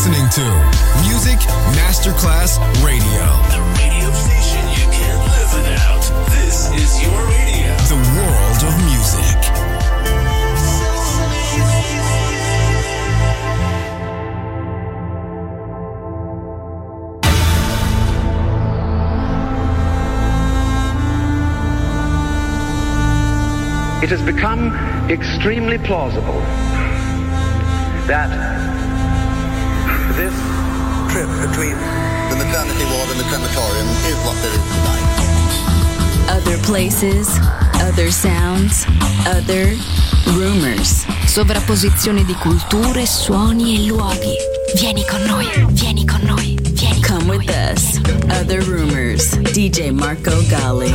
listening to Music Masterclass Radio. The radio station you can't live without. This is your radio. The world of music. It has become extremely plausible that this trip between the maternity ward and the crematorium is what there is tonight. Other places, other sounds, other rumors. Sovrapposizione di culture, suoni e luoghi. Vieni con noi, vieni con noi, vieni con noi. Come with us. Other Rumors. DJ Marco Gally.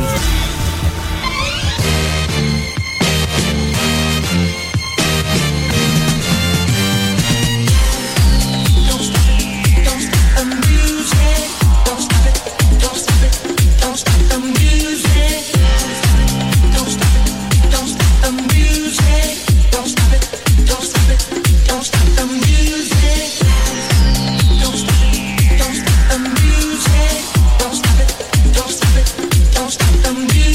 Don't stop the music.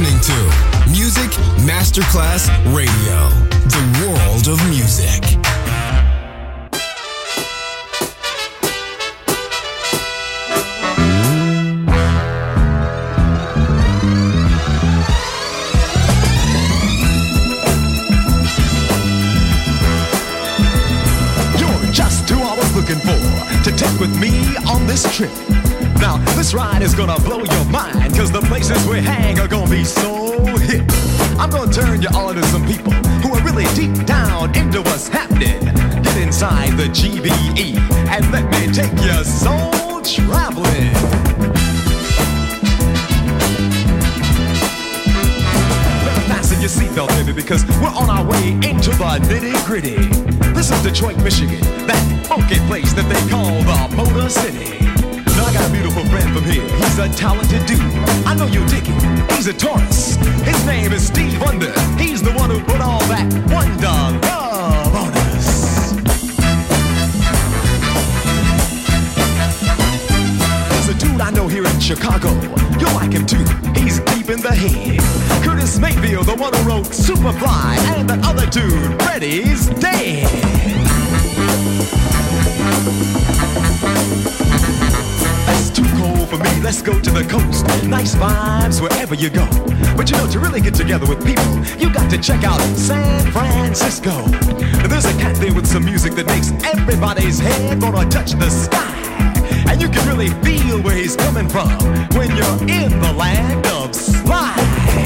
listening to Music Masterclass Radio, the world of music. You're just who I was looking for to take with me on this trip. Now, this ride is gonna blow your mind, cause the places we hang are gonna be so hip. I'm gonna turn you on to some people who are really deep down into what's happening. Get inside the GBE and let me take your soul traveling. Better fasten your seatbelt, baby, because we're on our way into the nitty-gritty. This is Detroit, Michigan, that funky place that they call the Motor City. I got a beautiful friend from here. He's a talented dude. I know you dig him. He's a Taurus. His name is Steve Wonder. He's the one who put all that wonder love on us. There's a dude I know here in Chicago. You'll like him too. He's deep in the head. Curtis Mayfield, the one who wrote Superfly, and the other dude, Freddie's dead. Too cold for me, let's go to the coast. Nice vibes wherever you go. But you know, to really get together with people, you got to check out San Francisco. There's a cat there with some music that makes everybody's head wanna touch the sky. And you can really feel where he's coming from when you're in the land of slide.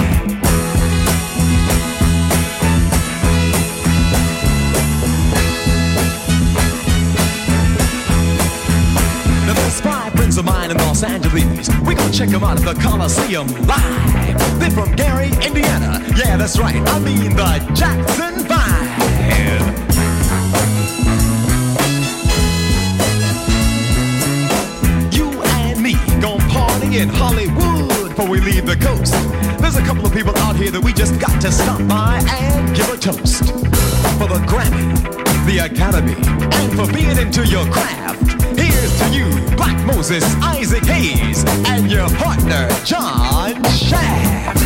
Of mine in Los Angeles, we gon' check them out at the Coliseum live. They're from Gary, Indiana. Yeah, that's right, I mean the Jackson 5. You and me gon' party in Hollywood before we leave the coast. There's a couple of people out here that we just got to stop by and give a toast. For the Grammy, the Academy, and for being into your craft. Here's to you, Black Moses, Isaac Hayes, and your partner, John Shaft.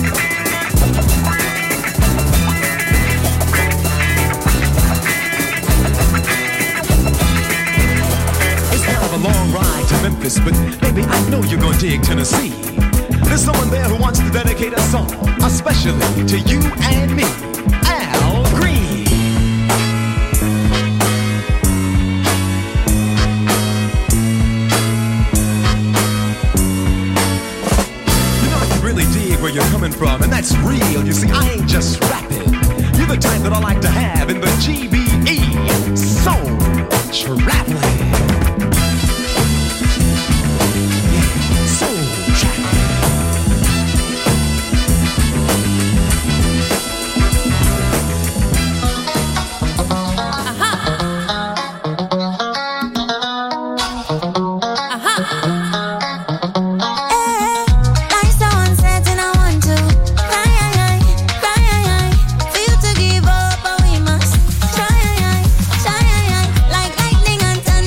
It's kind of a long ride to Memphis, but baby, I know you're gonna dig Tennessee. There's someone there who wants to dedicate a song, especially to you and me, Al Green. Where you're coming from, and that's real. You see, I ain't just rapping. You're the type that I like to have in the GBE. Soul traveling. Yeah, soul traveling. Feel to give up, but we must try. Like lightning and thunder.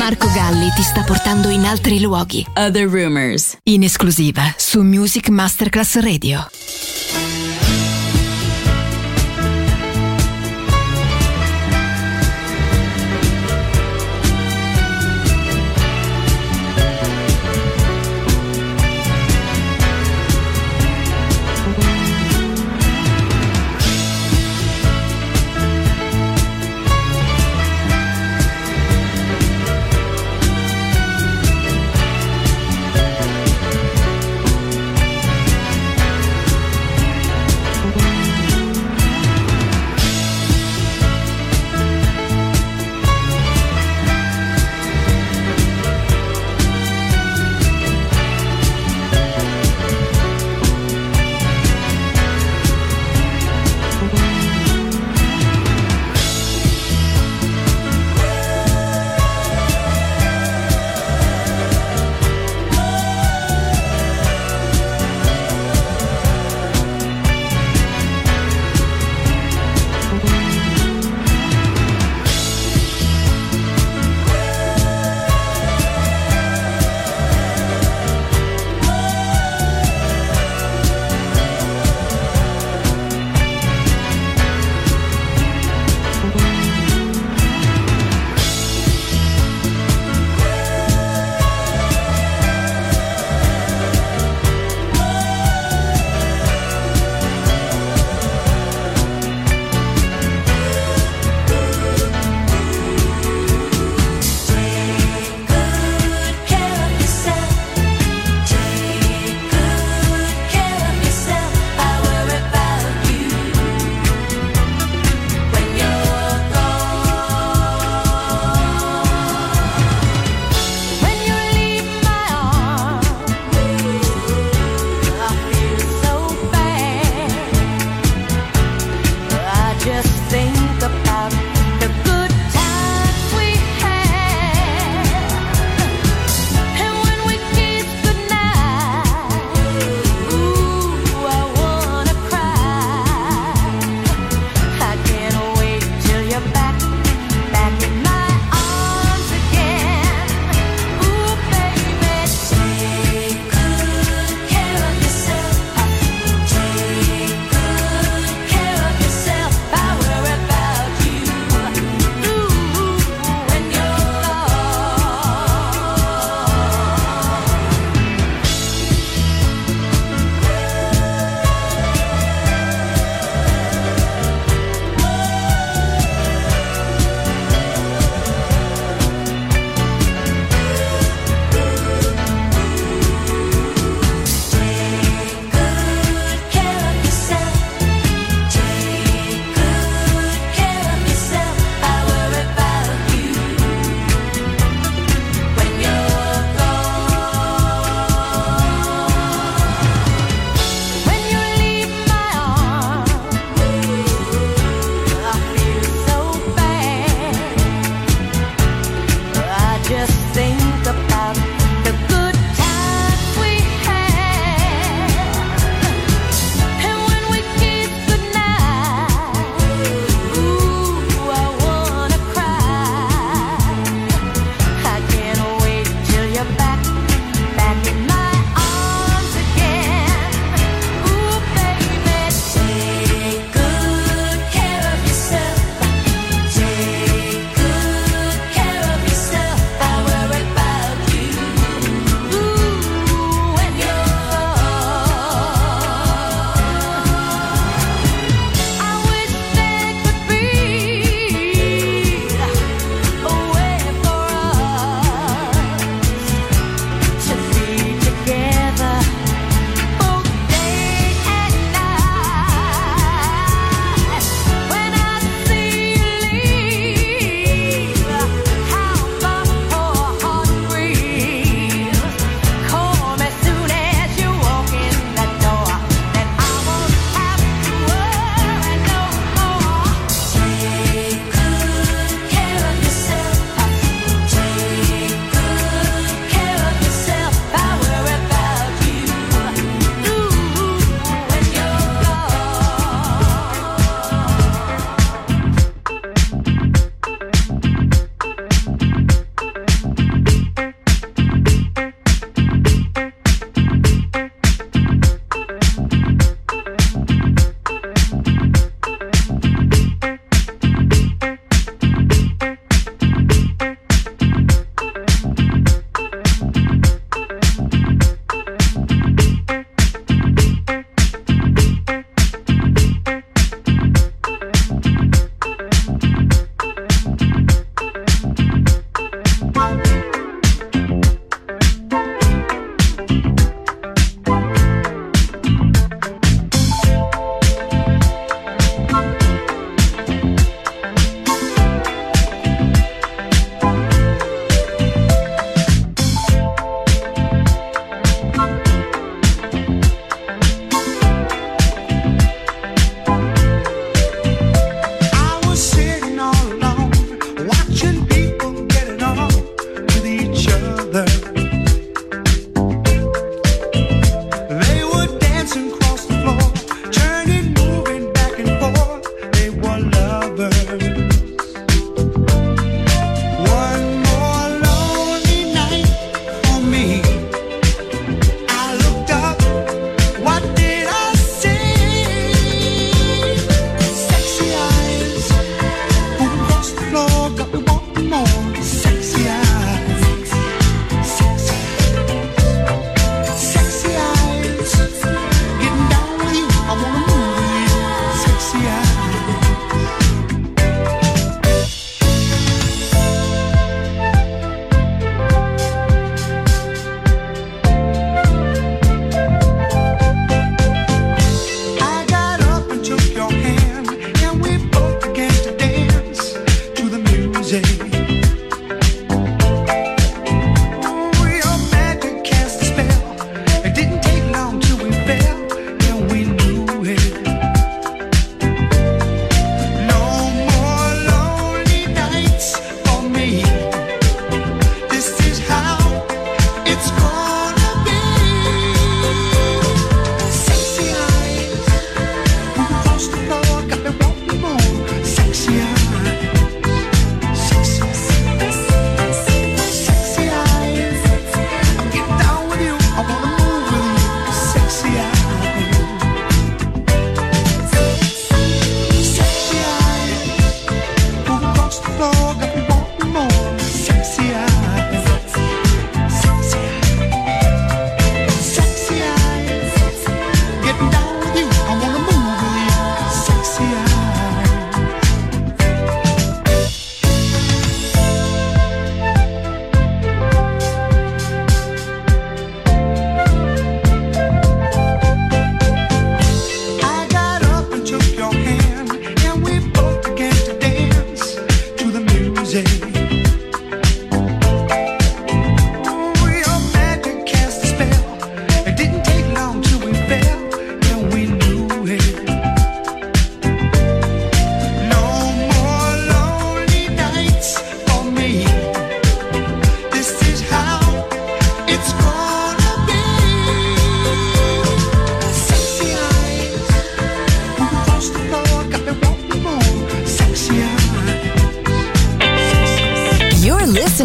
Marco Galli ti sta portando in altri luoghi. Other Rumors, in esclusiva su Music Masterclass Radio.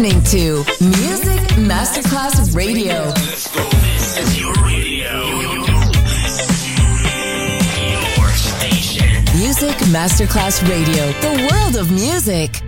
listening to Music Masterclass Radio. Let's go. This is your radio. Your station. Music Masterclass Radio. The world of music.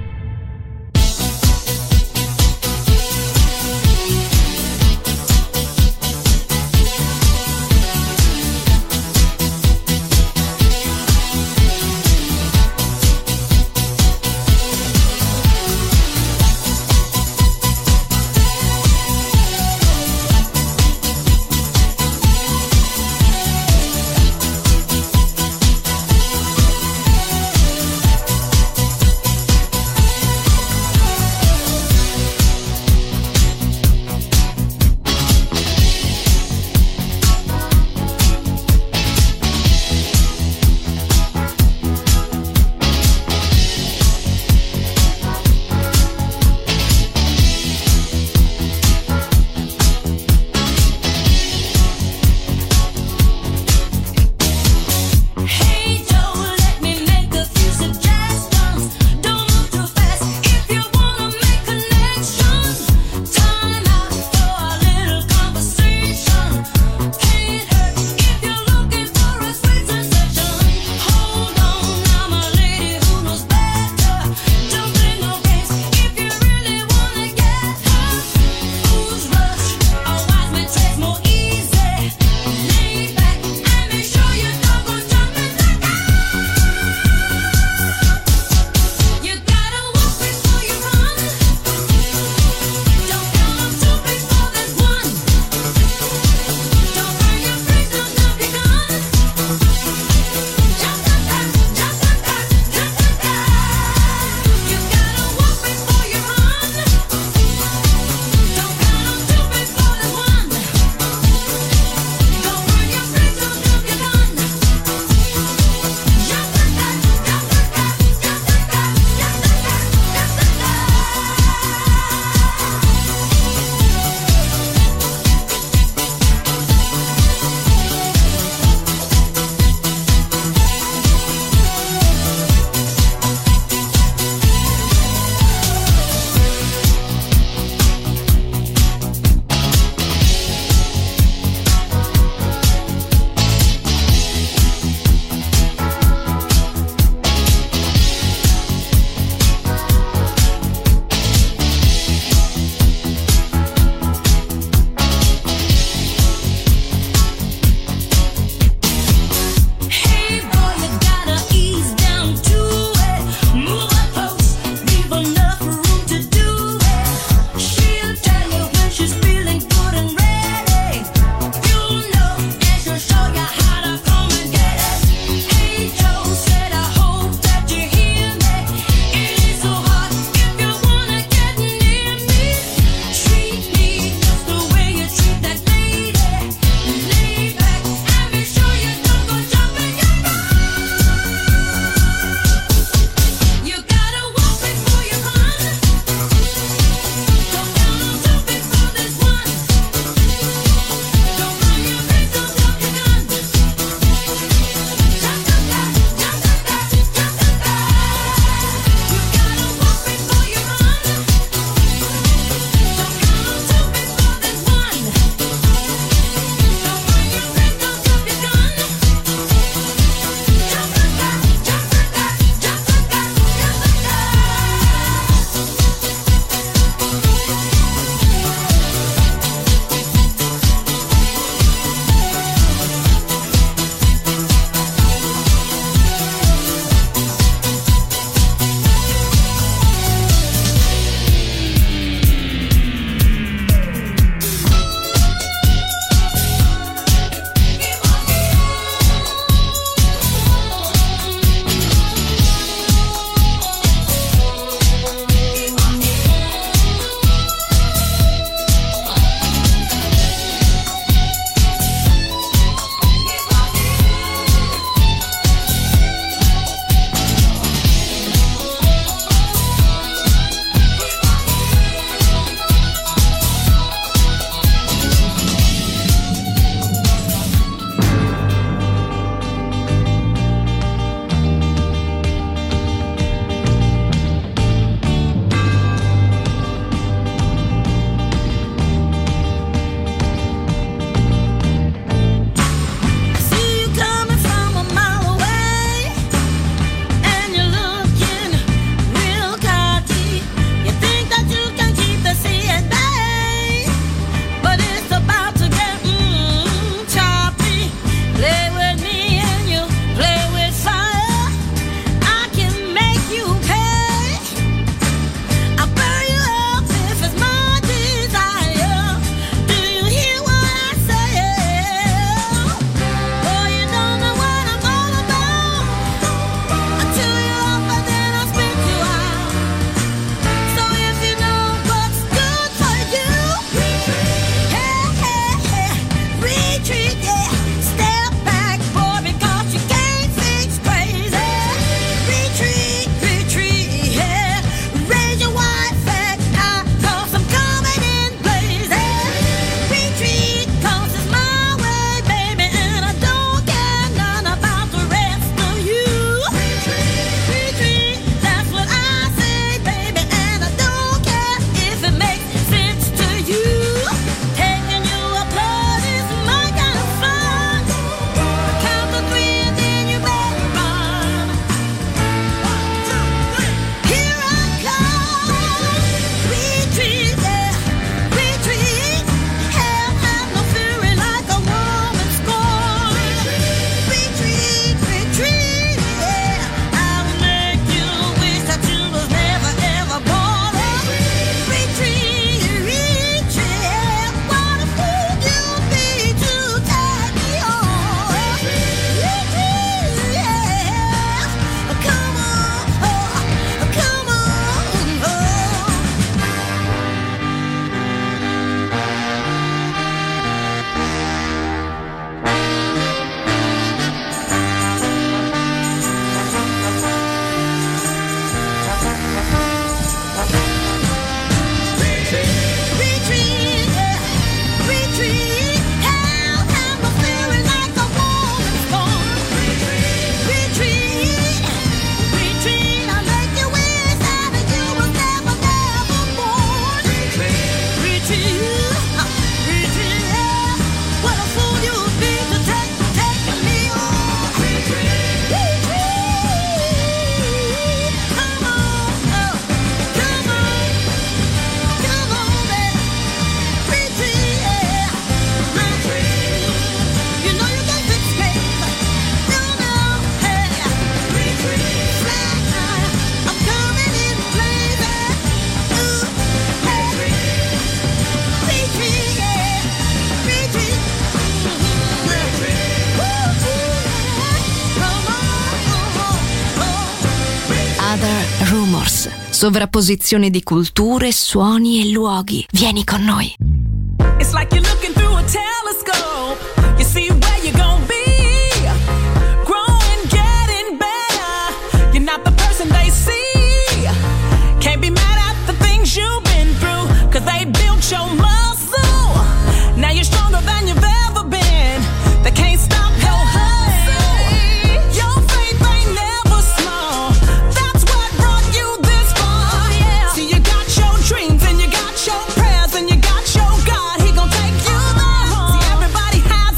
Other Rumors. Sovrapposizione di culture, suoni e luoghi. Vieni con noi. It's like you're looking through a telescope. You see where you're gonna be. Growing, getting better. You're not the person they see. Can't be mad at the things you've been through, 'cause they built your muscle. Now you're stronger than you've ever been. They can't stop your hustle. Your faith ain't never small. That's what brought you this far. See, you got your dreams and you got your prayers and you got your God. He gon' take you there. See, everybody has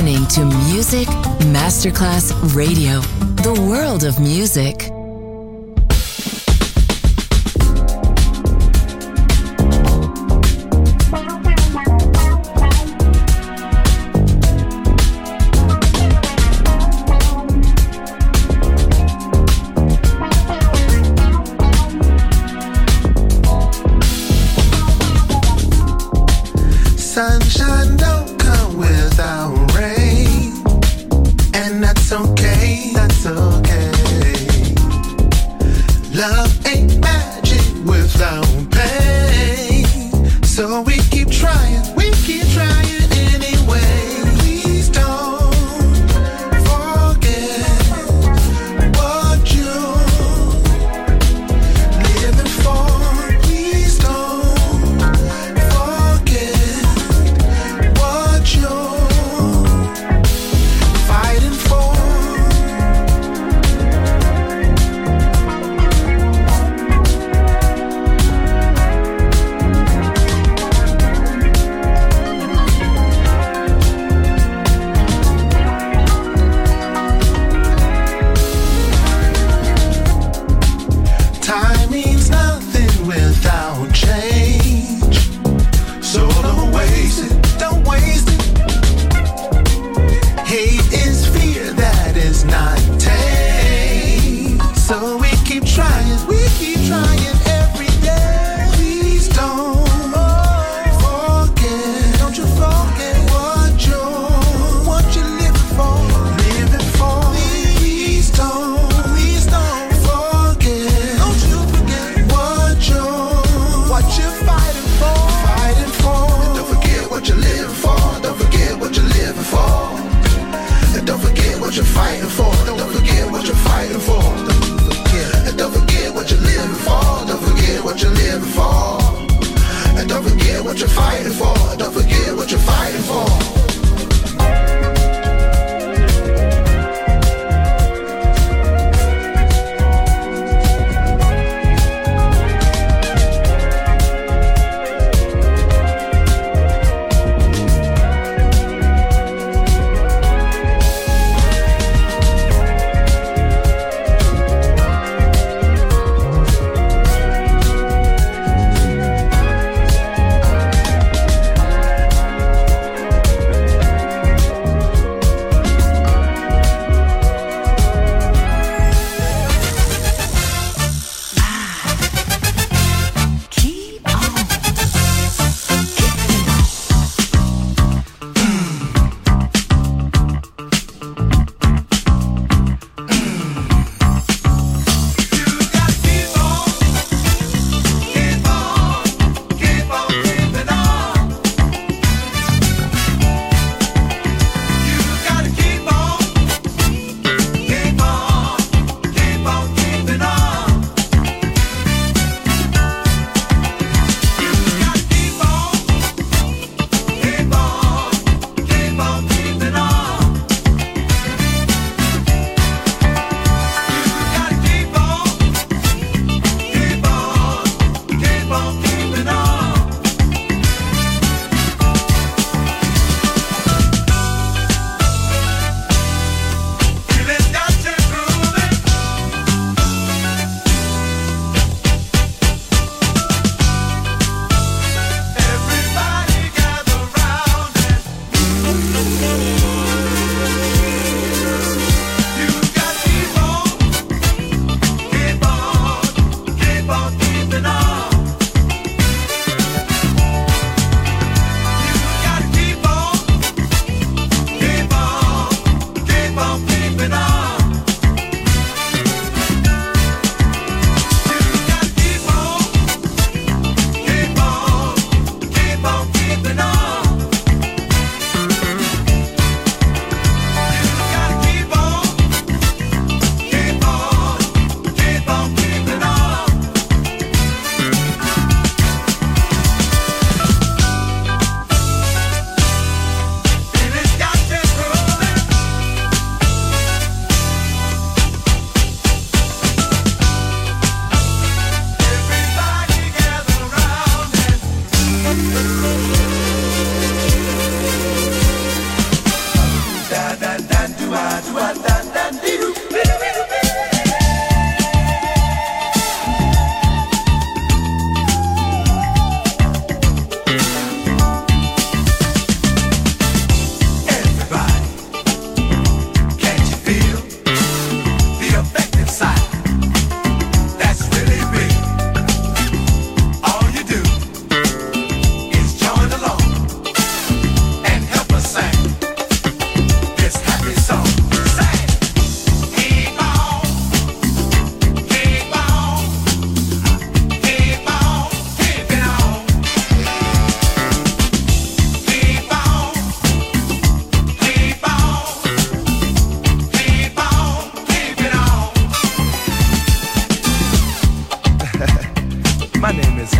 listening to Music Masterclass Radio, the world of music. Sunshine don't come without rain, and that's okay, that's okay.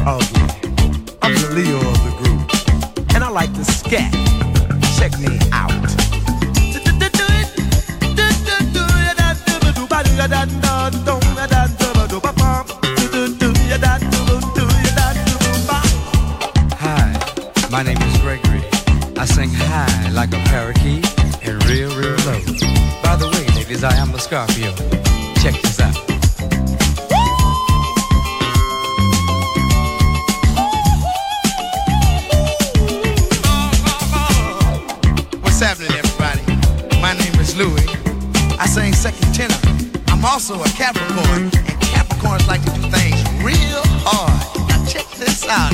ugly. I'm the Leo of the group, and I like to scat. Check me out. Hi, my name is Gregory. I sing high like a parakeet and real low. By the way, ladies, I am a Scorpio. Check this out. What's happening, everybody? My name is Louis. I sing second tenor. I'm also a Capricorn, and Capricorns like to do things real hard. Now check this out.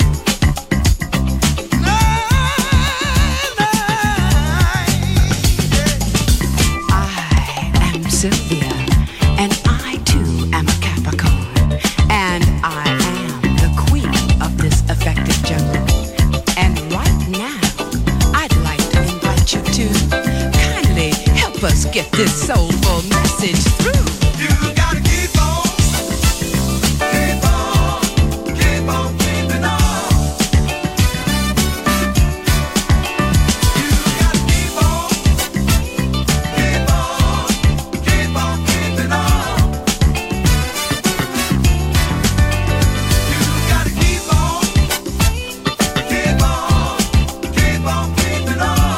I am Sylvia, and I too am a Capricorn, and I am the queen of this effective jungle. And right now, I'd like to invite you to kindly help us get this soulful message through. You gotta keep on, keep on, keep on keeping on. You gotta keep on, keep on, keep on keeping on. You gotta keep on, keep on, keep on keeping on.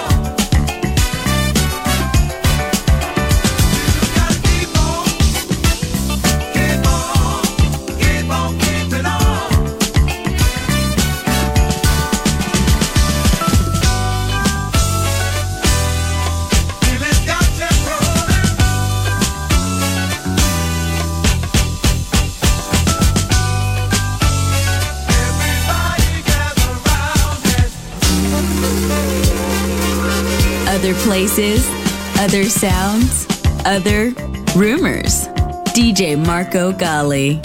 Other places, other sounds, other rumors. DJ Marco Gally.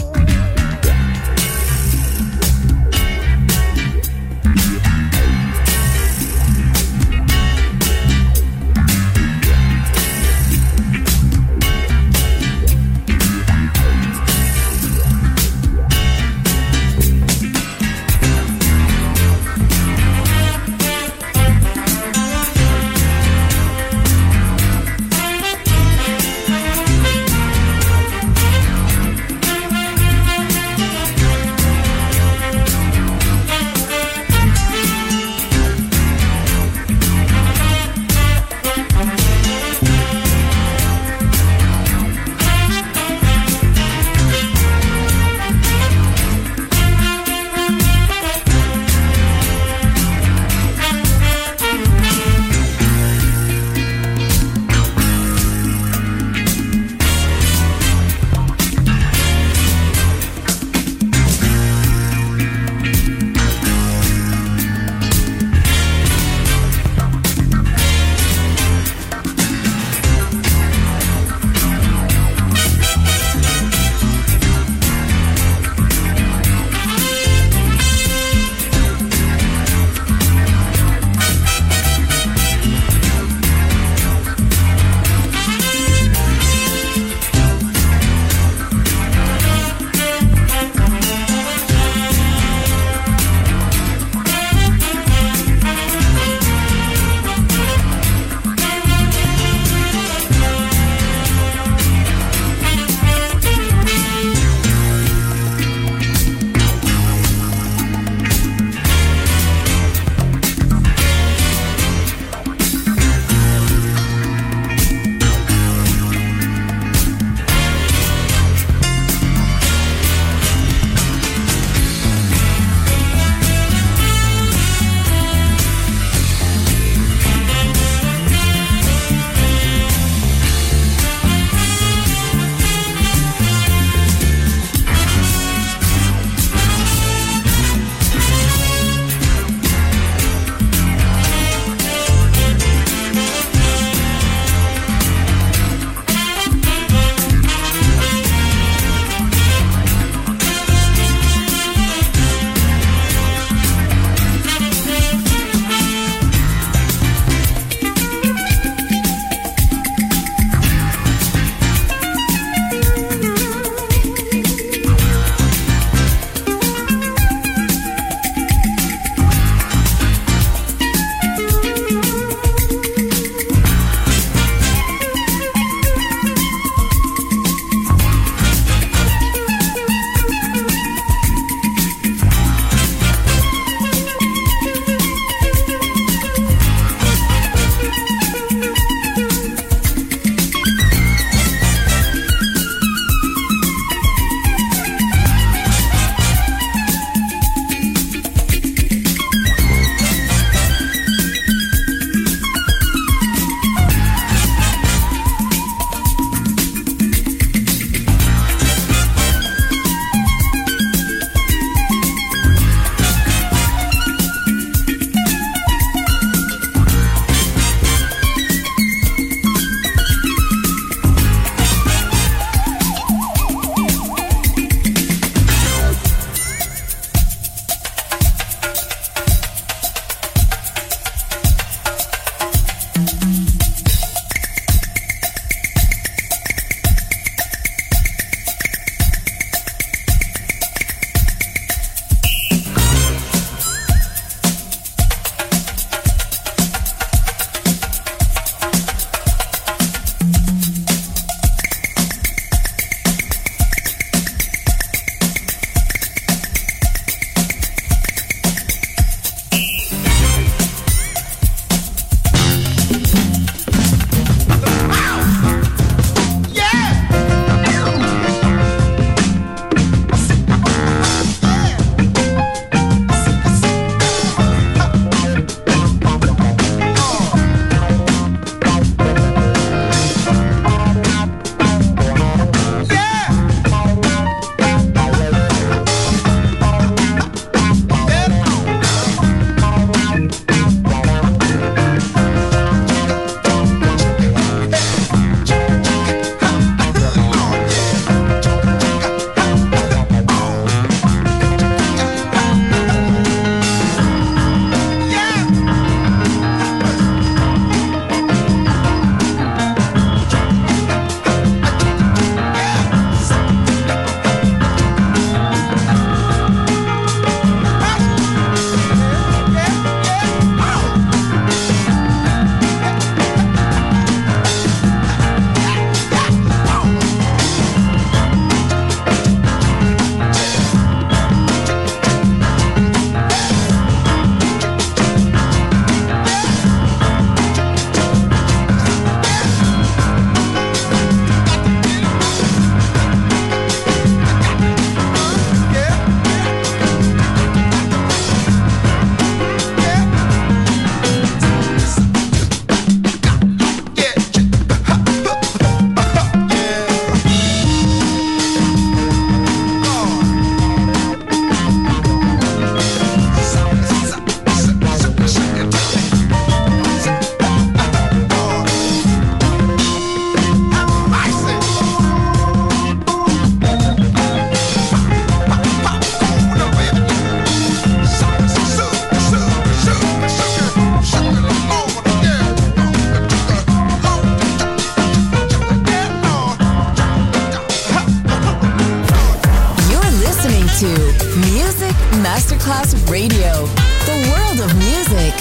Masterclass Radio, the world of music.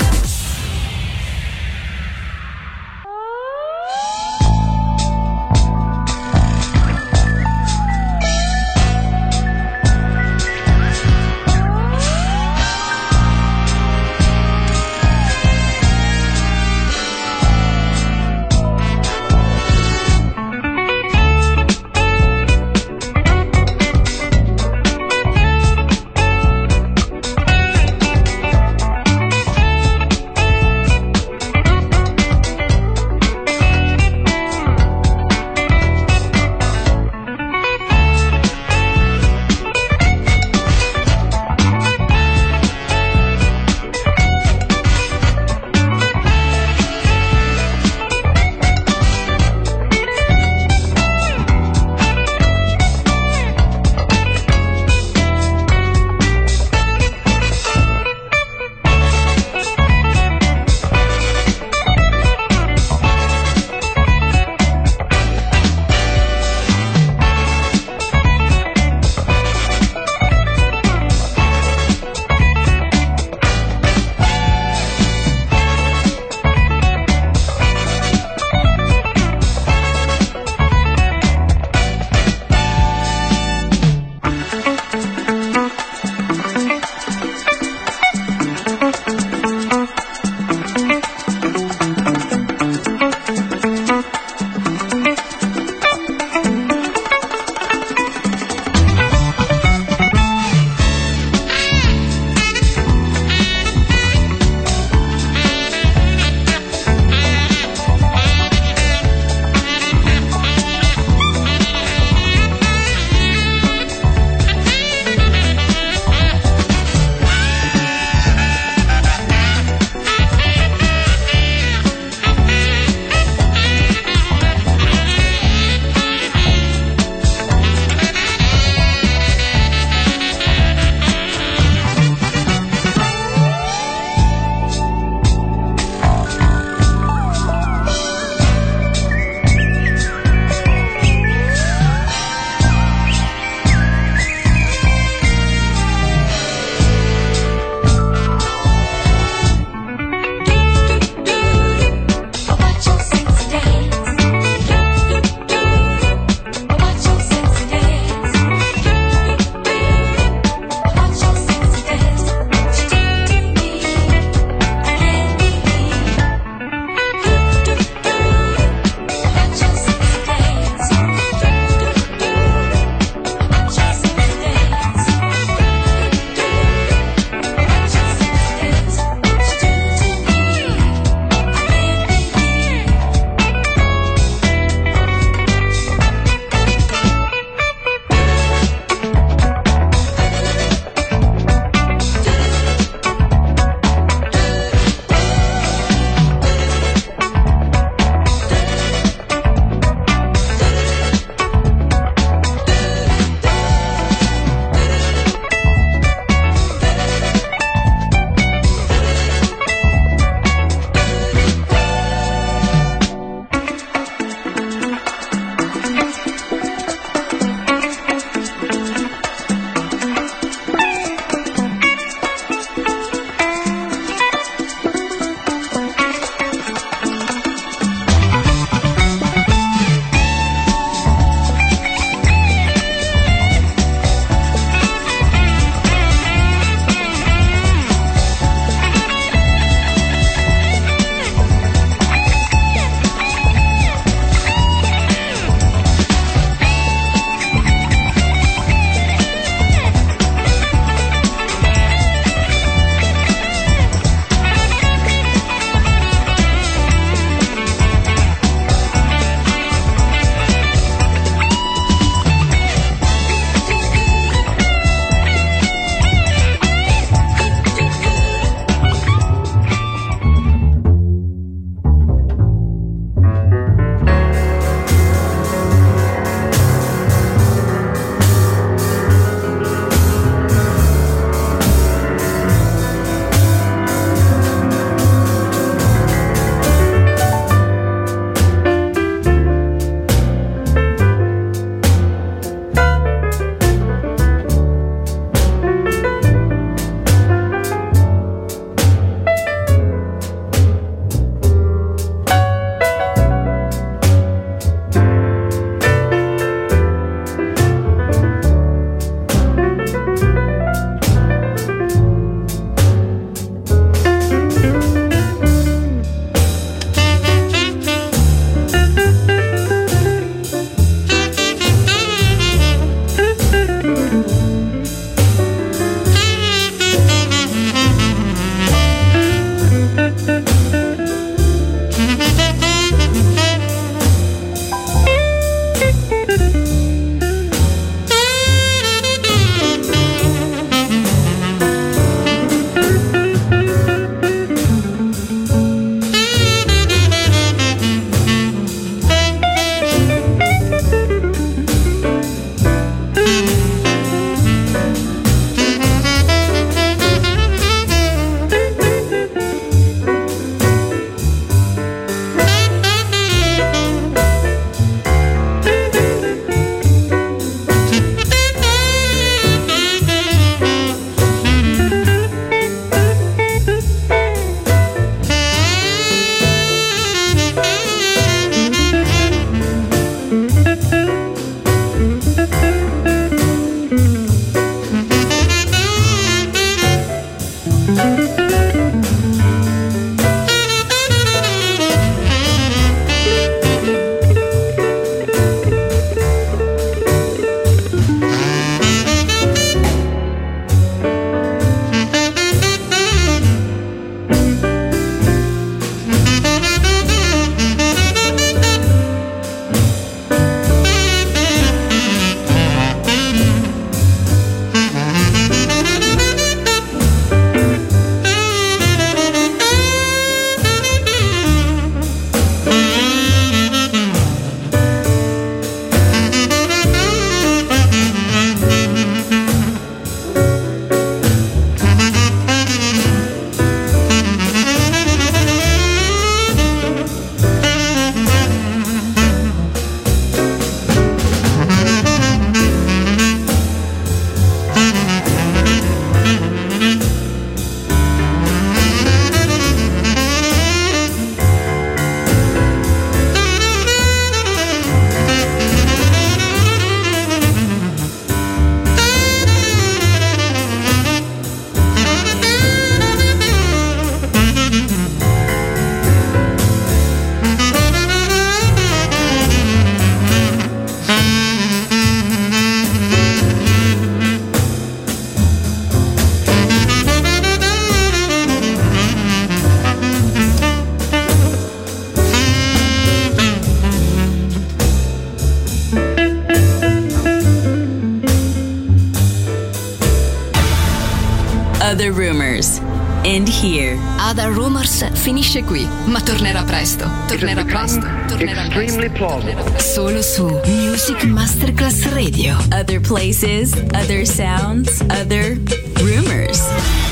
Other Rumors. And here. Other Rumors finisce qui, ma tornerà presto. Tornerà presto. Tornerà presto. Solo su Music Masterclass Radio. Other places, other sounds, other rumors.